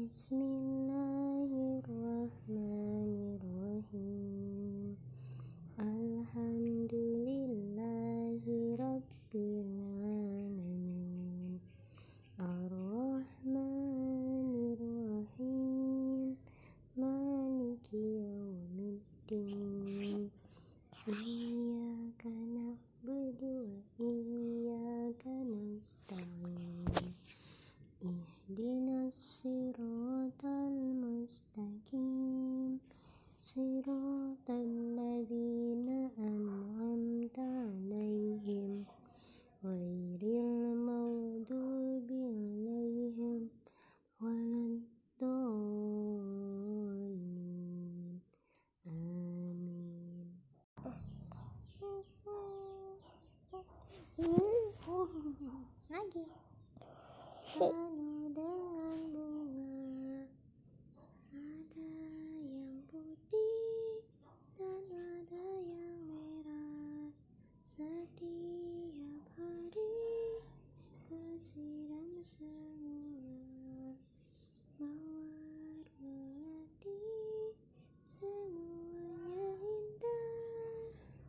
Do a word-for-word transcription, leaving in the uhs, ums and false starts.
Bismillahirrahmanirrahim. Alhamdulillahirabbil alamin. Ar-Rahmanirrahim. Maliki yaumiddin. Iyyaka na'budu wa iyyaka nasta'in. Ihdinas siratal mustaqim. Siratal ladzina an'amta 'alaihim ghairil maghdubi 'alaihim waladdallin. Amin. Lagi.